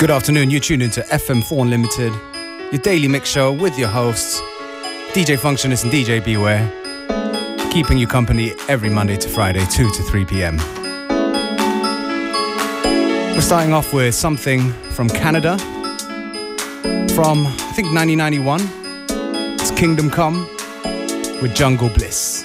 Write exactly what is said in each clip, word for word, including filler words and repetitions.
Good afternoon, you're tuned into F M four Unlimited, your daily mix show with your hosts, D J Functionist and D J Beware, keeping you company every Monday to Friday, two to three p m. We're starting off with something from Canada, from I think nineteen ninety-one. It's Kingdom Come with Jungle Bliss.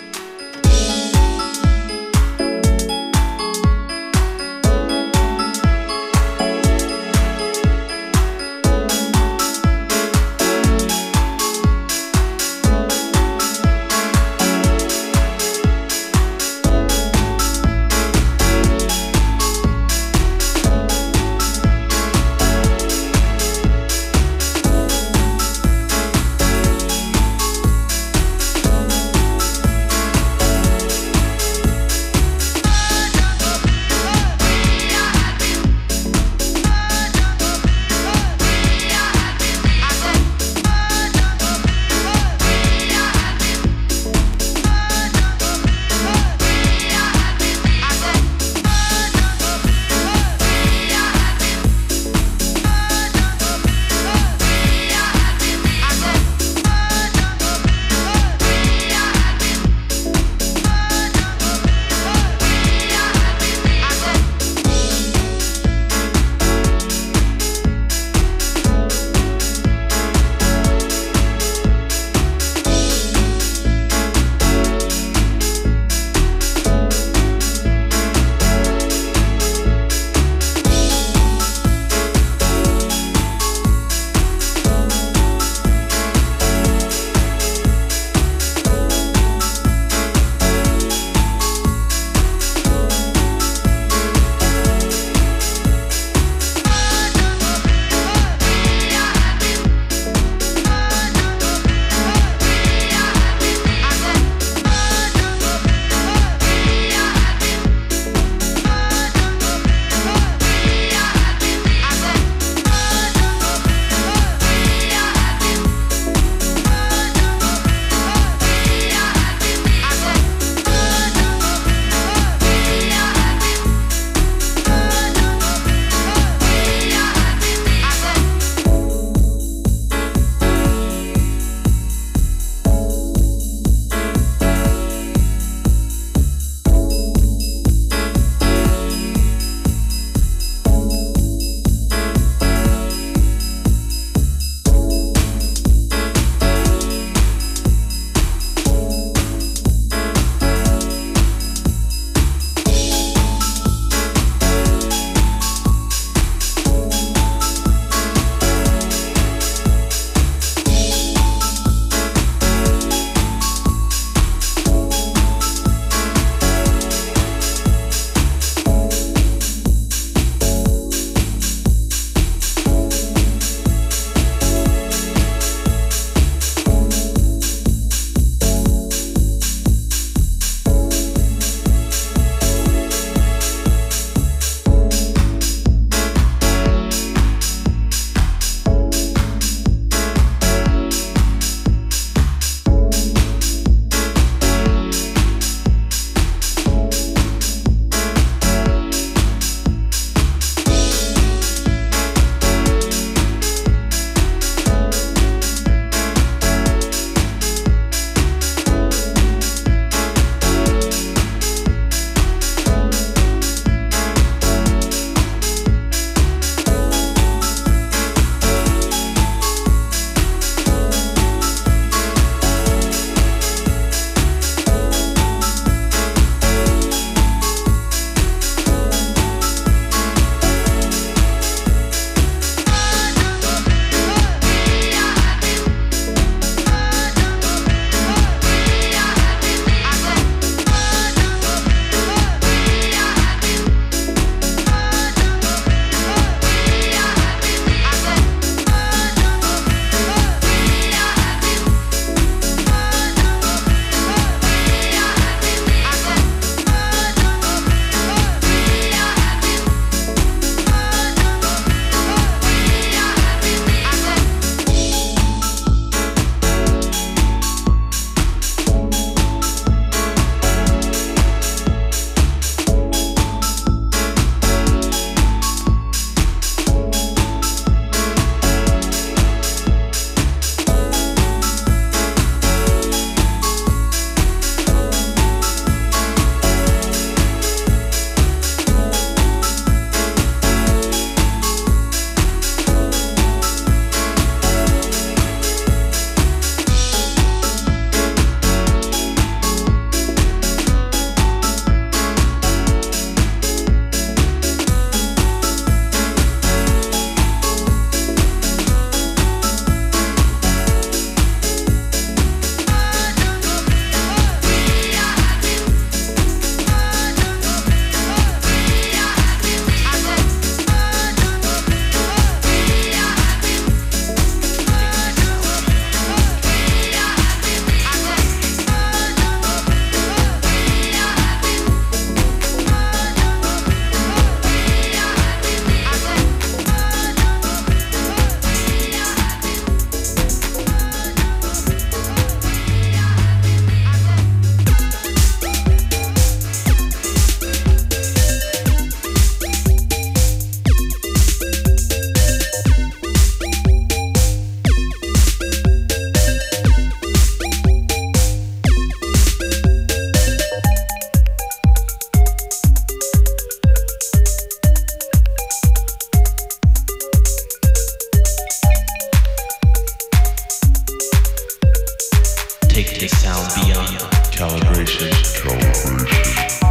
take sound beyond calibration. Calibration.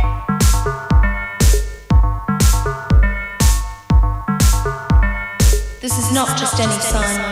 This is not just any sign.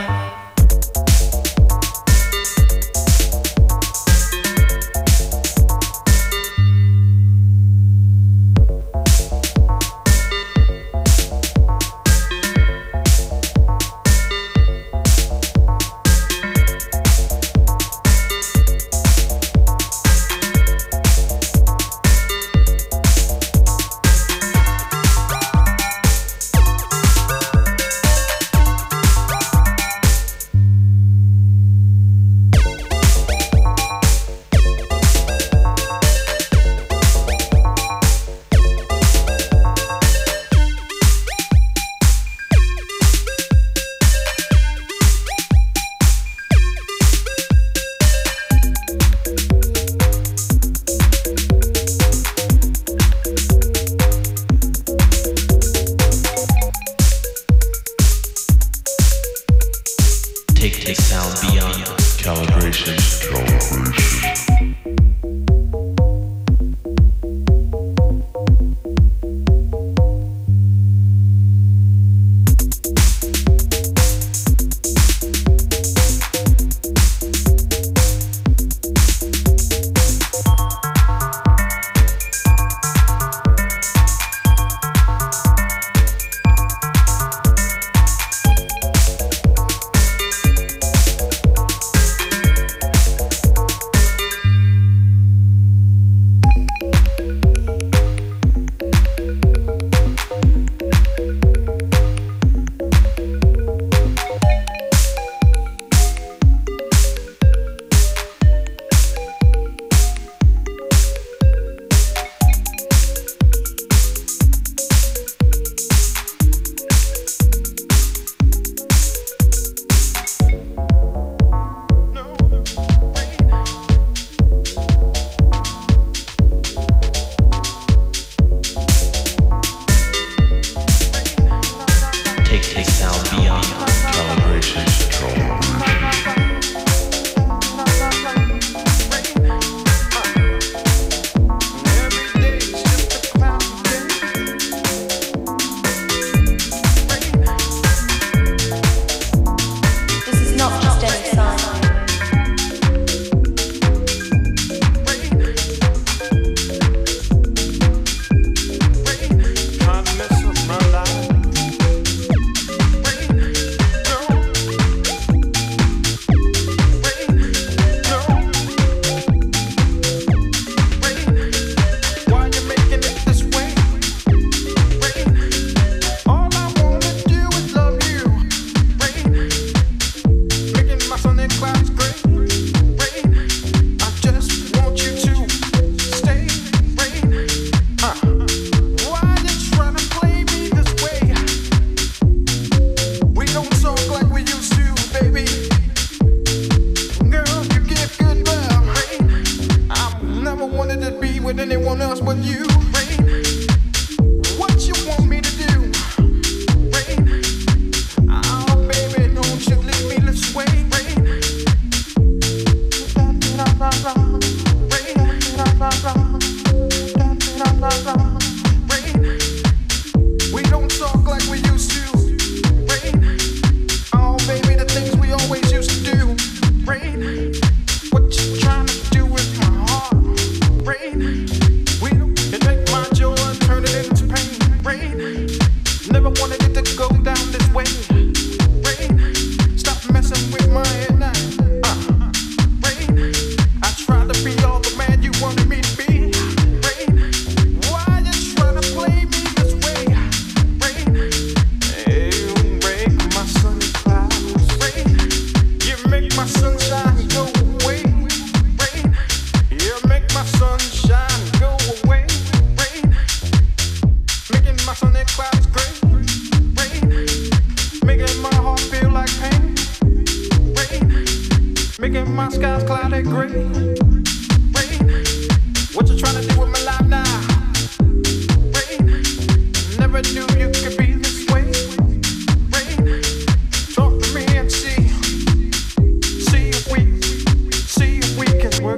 Work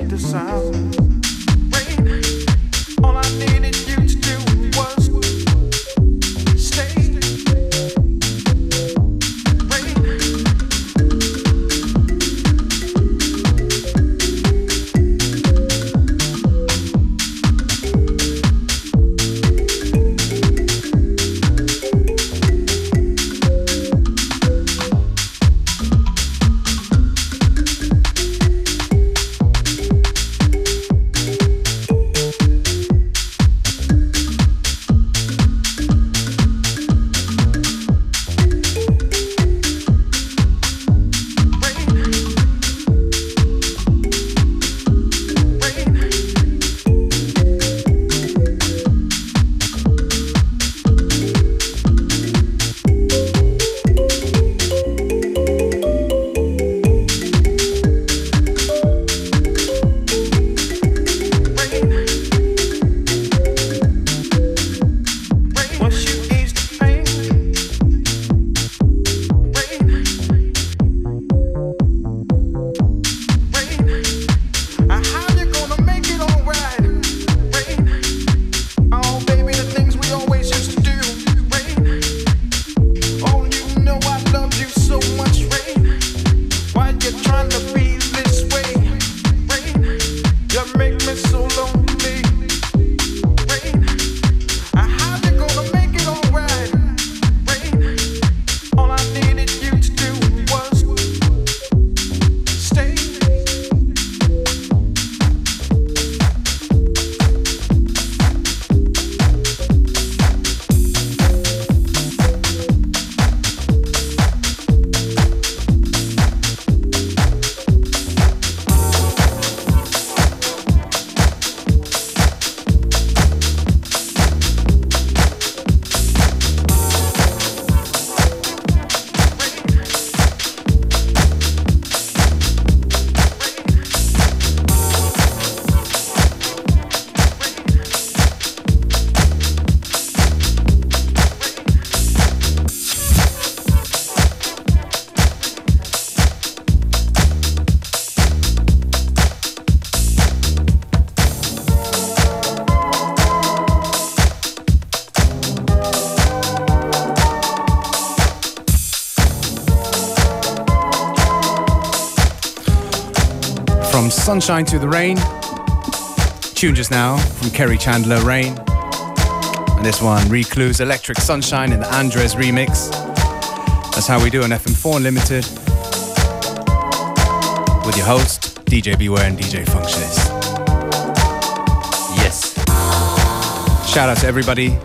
Sunshine to the Rain. Tune just now from Kerry Chandler, Rain. And this one, Recluse, Electric Sunshine in the Andres remix. That's how we do on F M four Unlimited. With your host, D J Beware and D J Functionist. Yes. Shout out to everybody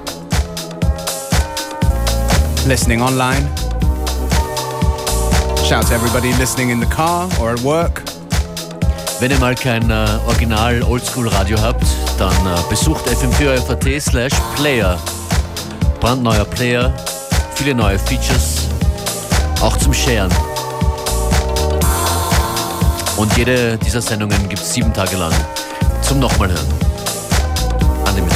listening online. Shout out to everybody listening in the car or at work. Wenn ihr mal kein äh, Original Oldschool Radio habt, dann äh, besucht f m vier punkt at slash player. Brandneuer Player, viele neue Features, auch zum Sharen. Und jede dieser Sendungen gibt es sieben Tage lang zum nochmal hören. Unlimited.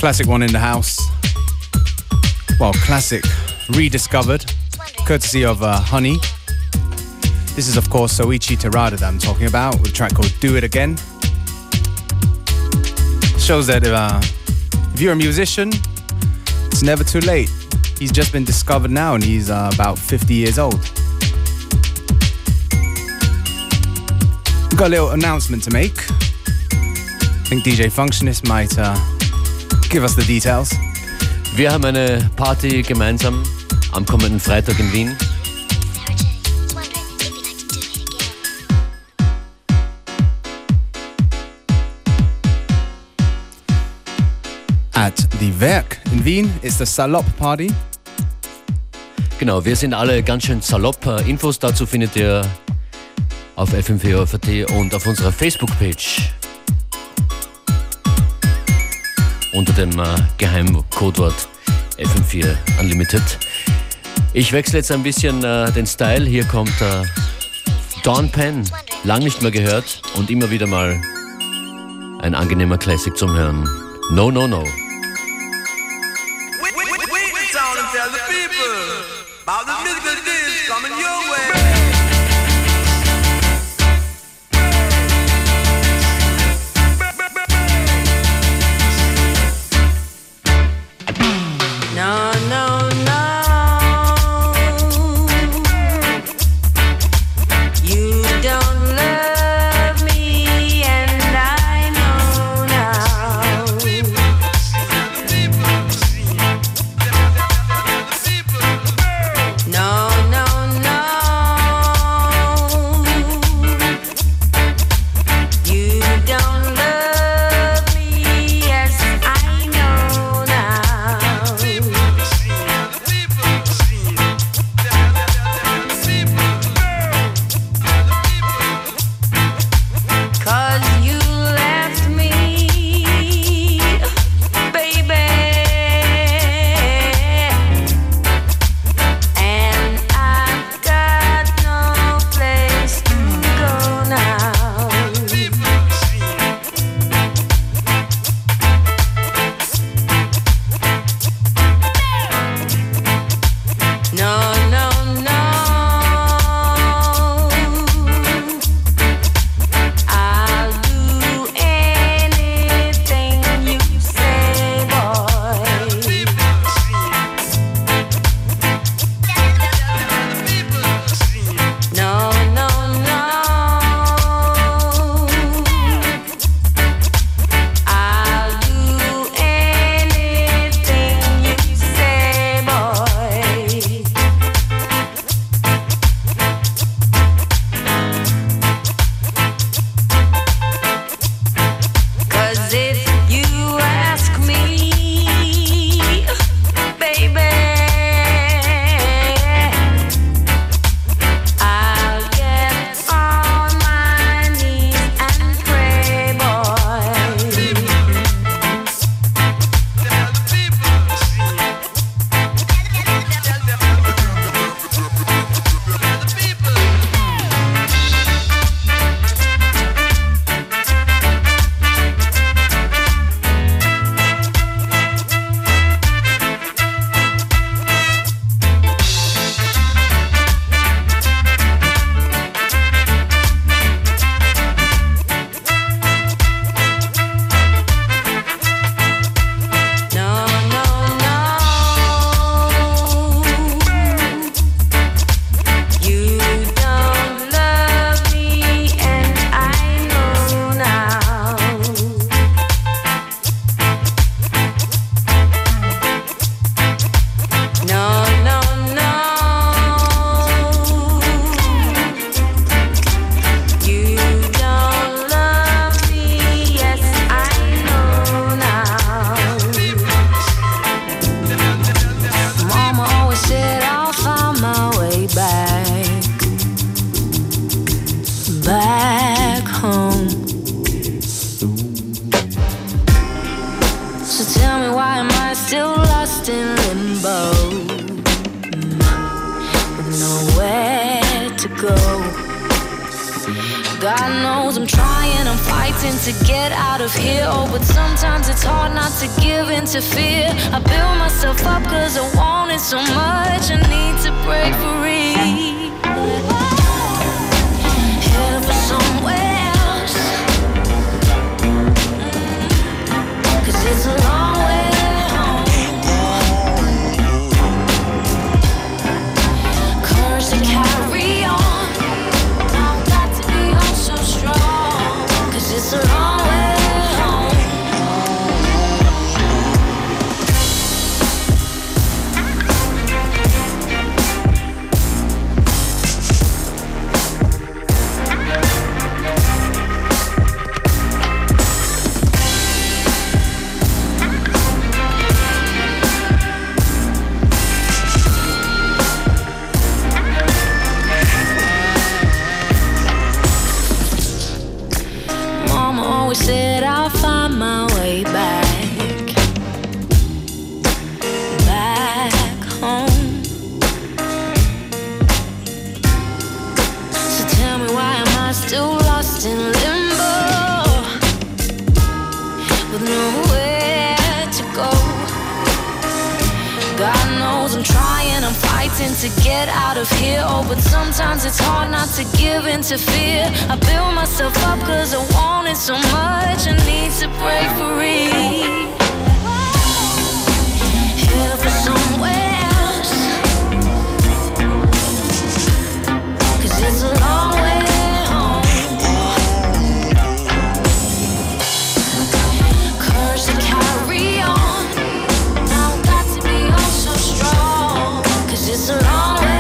Classic one in the house. Well, classic rediscovered, courtesy of uh, Honey. This is, of course, Soichi Terada that I'm talking about, with a track called Do It Again. Shows that uh, if you're a musician, it's never too late. He's just been discovered now and he's uh, about fifty years old. We've got a little announcement to make. I think D J Functionist might uh, give us the details. Wir haben eine Party gemeinsam am kommenden Freitag in Wien. At the Werk in Wien ist the Salop Party. Genau, wir sind alle ganz schön salopp. Infos dazu findet ihr auf f m vier punkt at und auf unserer Facebook-Page unter dem äh, Geheimcodewort F M vier Unlimited. Ich wechsle jetzt ein bisschen äh, den Style. Hier kommt äh, Dawn Penn, lang nicht mehr gehört und immer wieder mal ein angenehmer Classic zum Hören. No, no, no. Tell the people about the musical dish coming your way. No, no, no. You don't love me, and I know now. No, no, no. You don't love me, yes, I know now. 'Cause you left me, baby, and I've got no place to go now. No, no, no. I'll do anything you say, boy. No, no, no. I'll do anything you say, boy. 'Cause if you ask me, baby, I'll get on my knees and pray, boy. No, no, no. You don't love me, and I know now. No, no, no. You don't love me, yes, I know now. Mama always said I'll find my way back, back home. So tell me, why am I still lost in limbo, with nowhere to go? God knows I'm trying, I'm fighting to get out of here. Oh, but sometimes it's hard not to give give in to fear. I build myself up cause I want it so much. I need to break free. Headed for somewhere else, cause it's a long way home. Courage to carry on. I've got to be on so strong, cause it's a long way. Said I'll find my way back, back home. So tell me, why am I still lost in limbo, with nowhere to go? God knows I'm trying, I'm fighting to get out of here. Oh, but sometimes it's hard not to give in to fear. I build myself up cause I want it so much. I need to break free. Headed for somewhere else, cause it's a long way home. Courage to carry on. Now I've got to be on so strong, cause it's a long way.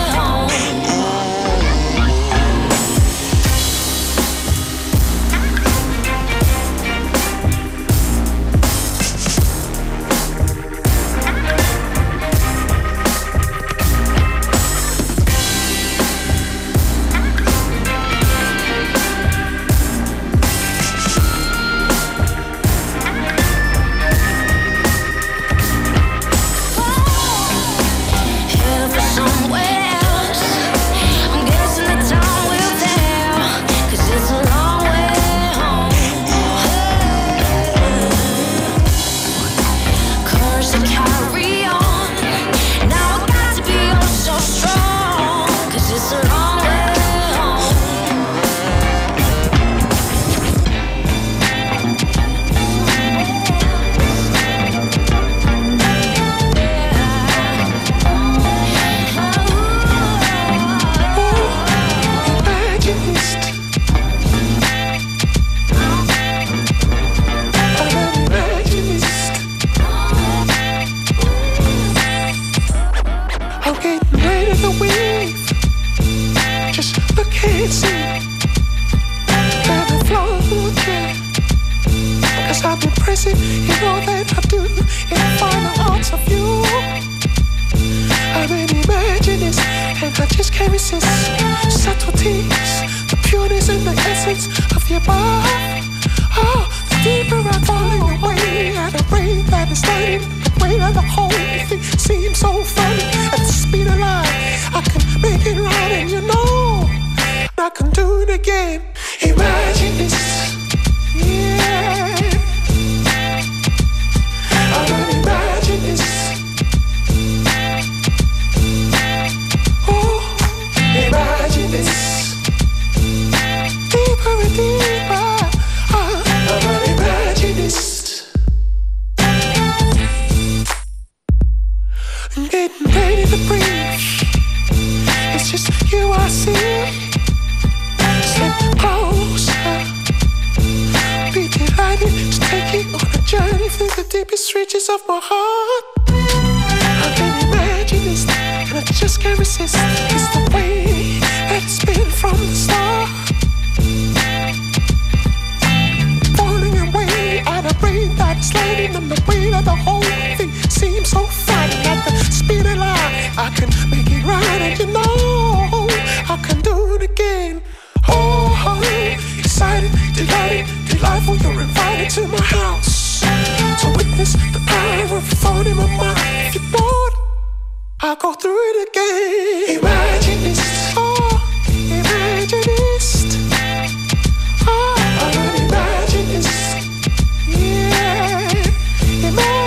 I'll go through it again. Imagine this, oh, imagine this. Oh, I imagine this, yeah, imagine.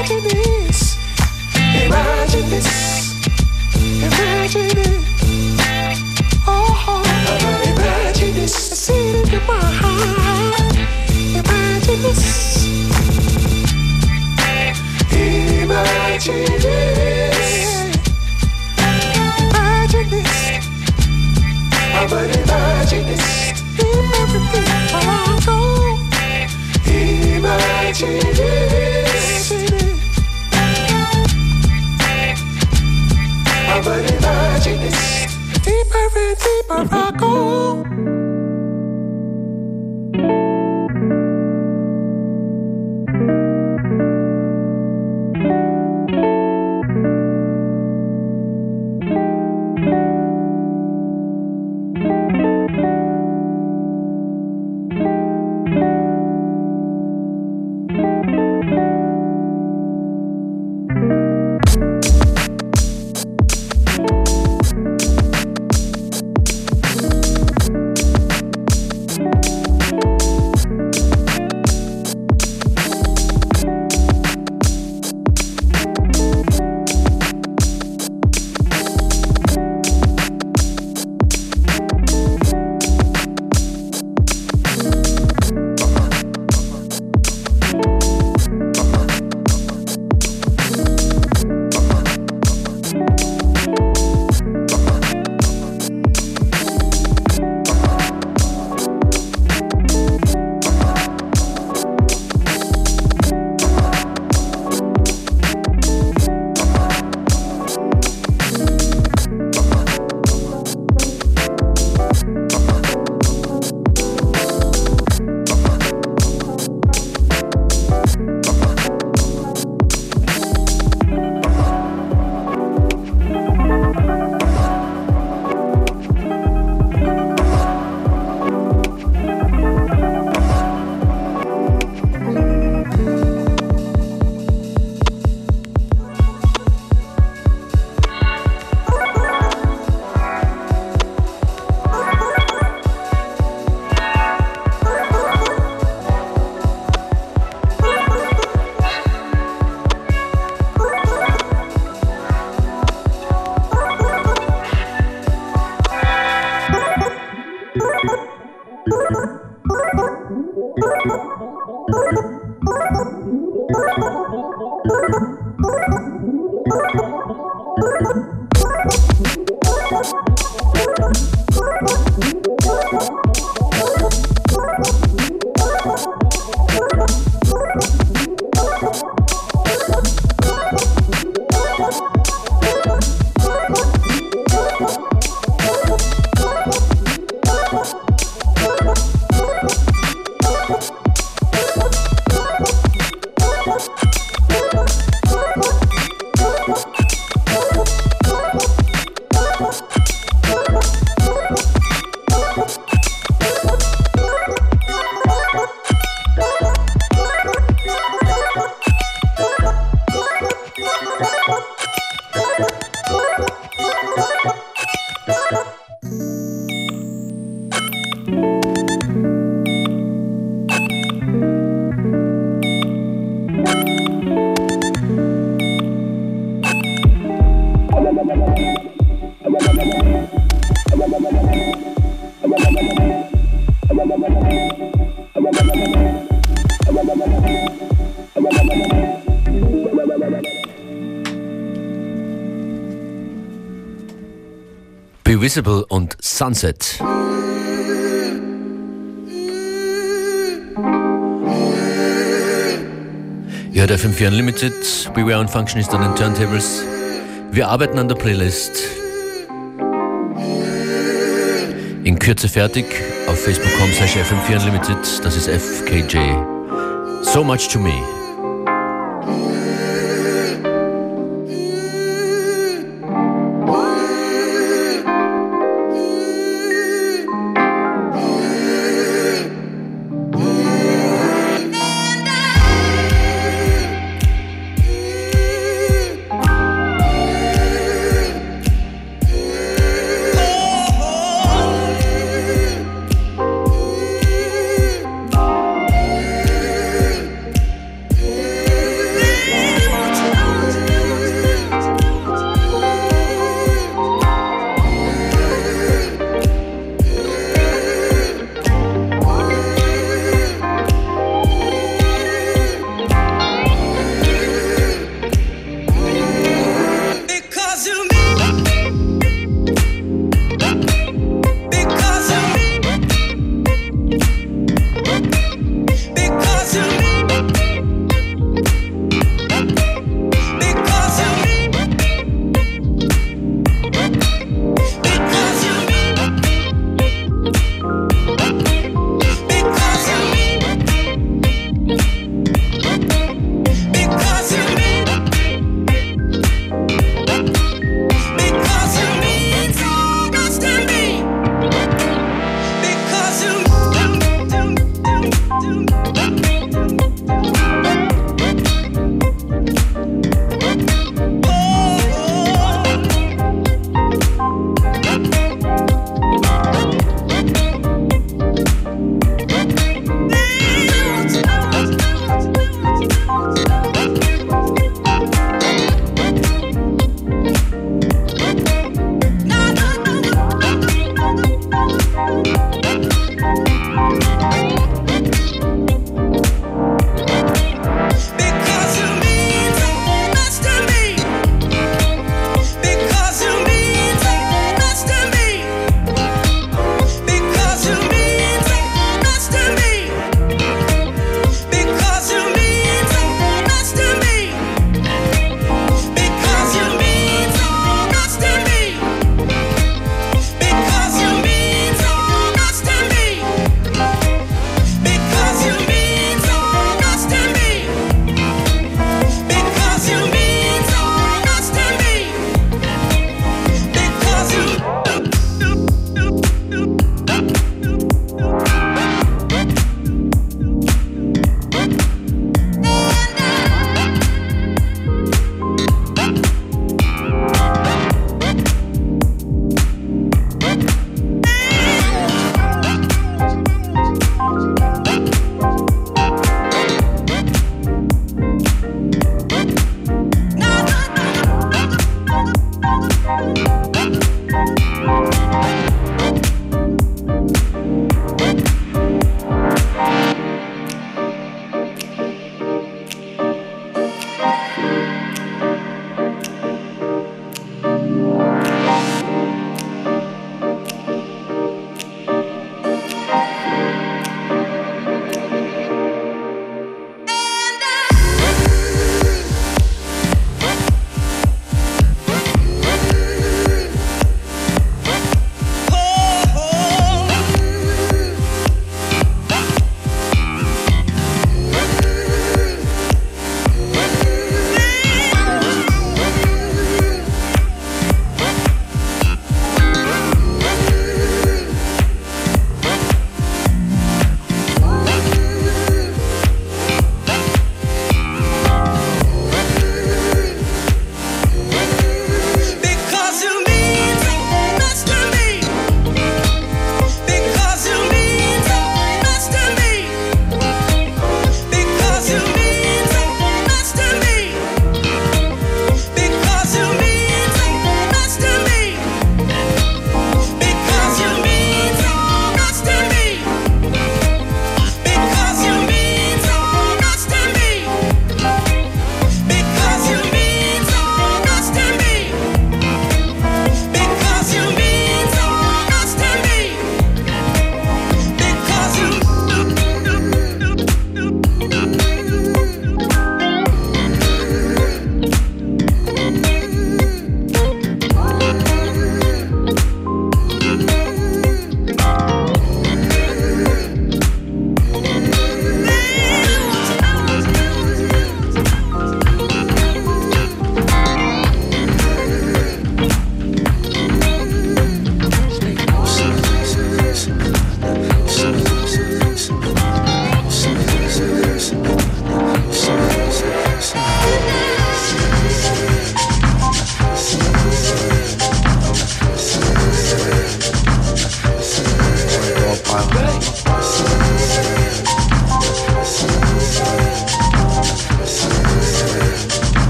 Be Visible und Sunset. Ihr hört F M vier Unlimited, Beware und Functionist an den Turntables. Wir arbeiten an der Playlist. In Kürze fertig auf facebook punkt com slash F M vier Unlimited. Das ist F K J. So Much to Me.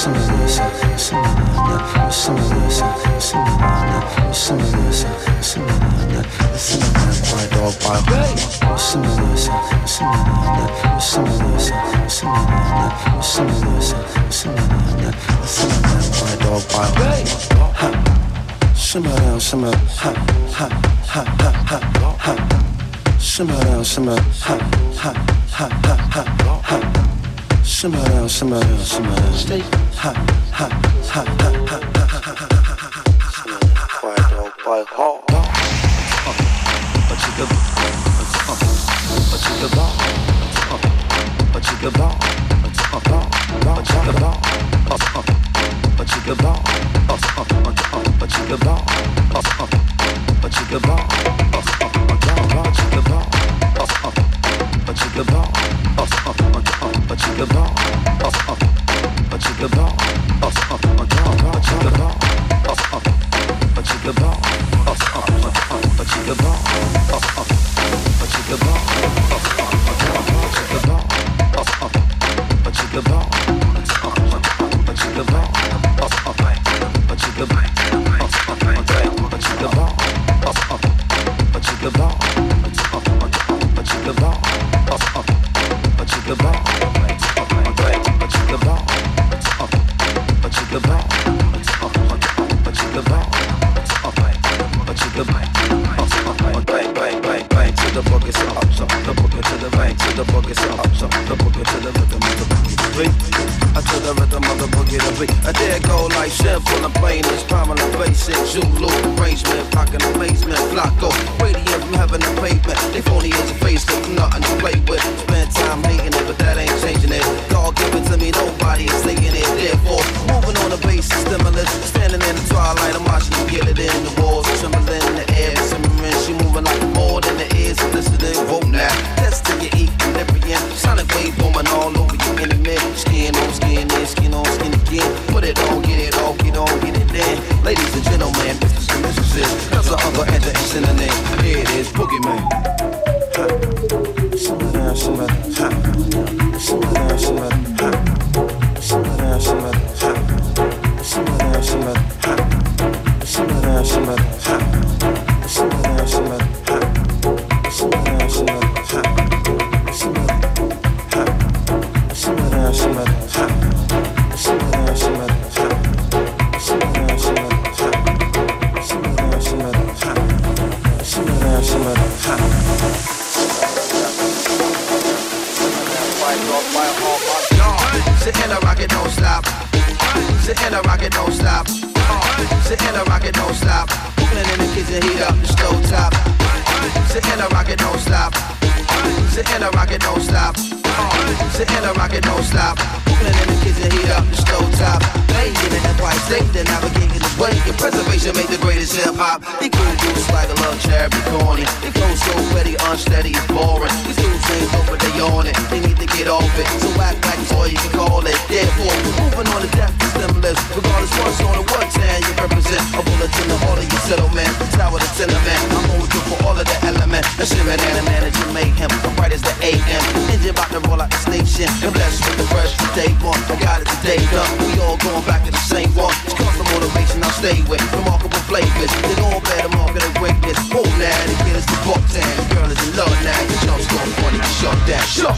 Simmer down, simmer, ha, ha, ha, ha, ha, ha. Simmer down, simmer, ha, ha, ha, ha, ha, ha. Simmer down, simmer down, simmer down. Stay, ha, ha, ha, ha, ha, ha, ha, ha, ha. Quiet dog, quiet hawk. A chica, a chica ball, a chica ball, a chica ball, a chica ball, a chica ball, a chica ball, a chica ball, a chica ball, a chica ball, a chica ball, a chica ball, a chica ball. A chica ball, a chica ball, a chica ball, a chica ball, a chica ball, a chica ball, a chica ball, a chica ball, a chica ball, a chica ball, a chica ball, a chica ball, a chica ball. A chica bang, bang, bang, bang, bang to the boogie, so up, so the boogie to the bang, to the boogie, so up, so the boogie to the rhythm of the boogie beat. I to the rhythm of the boogie to beat. I dare go like simple and plain as prominent basic Zulu arrangement, rockin' amazement, flocko, radiant from heaven and pavement. They phony as a face, got nothing to play with. Spend time hating it, but that ain't changing it. God give it to me, nobody is taking it. Therefore, moving on the basis, stimulus, standing in the twilight, I'm watching you get it in the walls, trembling in the air, simmering, she moving like more than the ears, listening, whoa now, test till you equilibrium, sonic wave booming all over you in the mid, skin on skin, in, skin on skin again, put it on, get it all, get on, get it in, ladies and gentlemen, misters and mistresses, that's the other enter and synonym, here it is, Boogeyman. Ha, simmer down, simmer, ha, simmer down, simmer, ha, simmer down, simmer, ha, simmer down, simmer, ha. Simmer down, simmer, ha. Simmer down, simmer, ha. Simmer down, simmer, ha. Simmer, ha. Simmer down, simmer, ha. Simmer down, simmer, ha. Simmer down, simmer, ha. Simmer down, simmer, ha. Simmer down, simmer, ha. Sit in a rocket, don't stop. Sit in a rocket, don't stop. Sit in a rocket, don't stop. Cooking in the kitchen, heat up the stove top. Sit in a rocket, don't stop. Sit in a rocket, don't stop. Sit in a rocket, don't stop. Cooking in the kitchen, heat up the stove top. Playing in the Empire State, they're navigating this way. Your preservation made the greatest hip hop. They cool dudes like a little cherry corny. They flow so petty, unsteady, it's boring. These dudes ain't over, they on it. They need to get off it. So act like it's all you can call it. Therefore, moving on to death is stimulus. Regardless what's on or what town you represent. A bullet in the heart of your settlement. Tower to tenement. I'm always good for all of the element. A shivering animal that you mayhem. I'm bright as the A M. Engine about to roll out the station. And blessed with the fresh from day one. I got it today done. We all going back to the same one. It's constant motivation I'll stay with. Remarkable flavors. They all bear the mark of the greatness. Hold now to get us to buck town. The girl is in love now. Your jump's going funny. Shut down. Shut.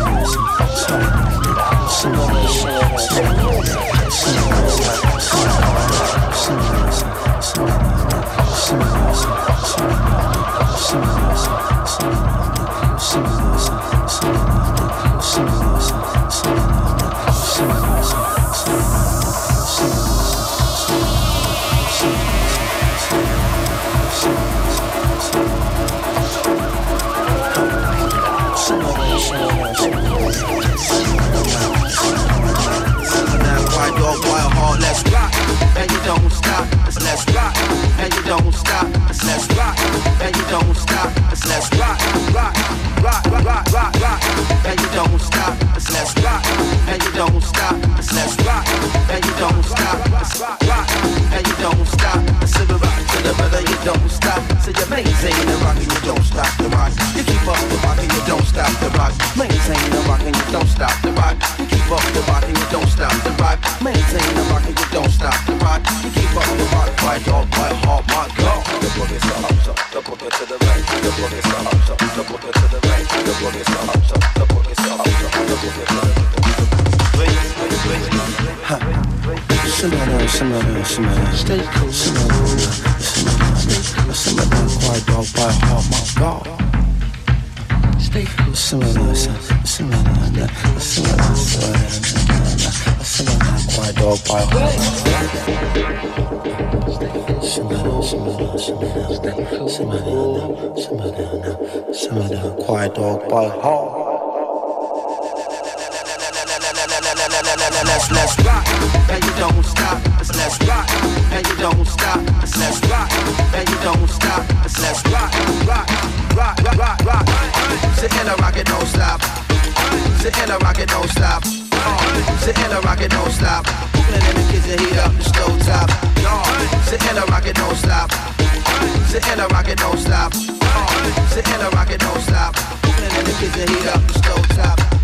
Let's rock, and you don't stop. Let's rock, and you don't stop. Let's rock, and you don't stop. Let's rock, rock, rock, rock, rock, rock, and you don't stop. Let's rock, and you don't stop. Let's rock, and you don't stop. Let's rock, and you don't stop. So we rock to the rhythm, you don't stop. So you maintain the rock and you don't stop the rock. You keep up the rock and you don't stop the rock. Maintain the rock and you don't stop the rock. You keep up the rock and you don't stop the rock. rock. Maintain the rock and you don't stop the rock. You keep up the rock, quiet dog, quiet heart, my God. The boogie so up, so the boogie to the right. The boogie so up, so the boogie to the right. The boogie so up, so the boogie so up, so the boogie to the right. Ha. Simmer down, simmer down, simmer down. Stay cool. Simmer down, simmer down. Simmer down, quiet dog, quiet heart, my God. Stay cool. Simmer down, simmer down, simmer down, simmer down, simmer down, quiet dog, quiet heart. Simmer down, simmer down, simmer down, simmer down, simmer down, simmer down, quiet dog, quiet heart. Let's let's rock, and you don't stop. Let's let's rock, and you don't stop. Let's let's rock, and you don't stop. Let's let's rock, rock, rock, rock, rock, rock. Sit in a rocket, don't stop. Sit in a rocket, don't stop. Sit in a rocket, don't stop. Cooling in the kitchen, heat up the stove top. Sit in a rocket, don't stop. Sit in a rocket, don't stop. Sit in a rocket, don't stop. Cooling in the kitchen, heat up the stove top.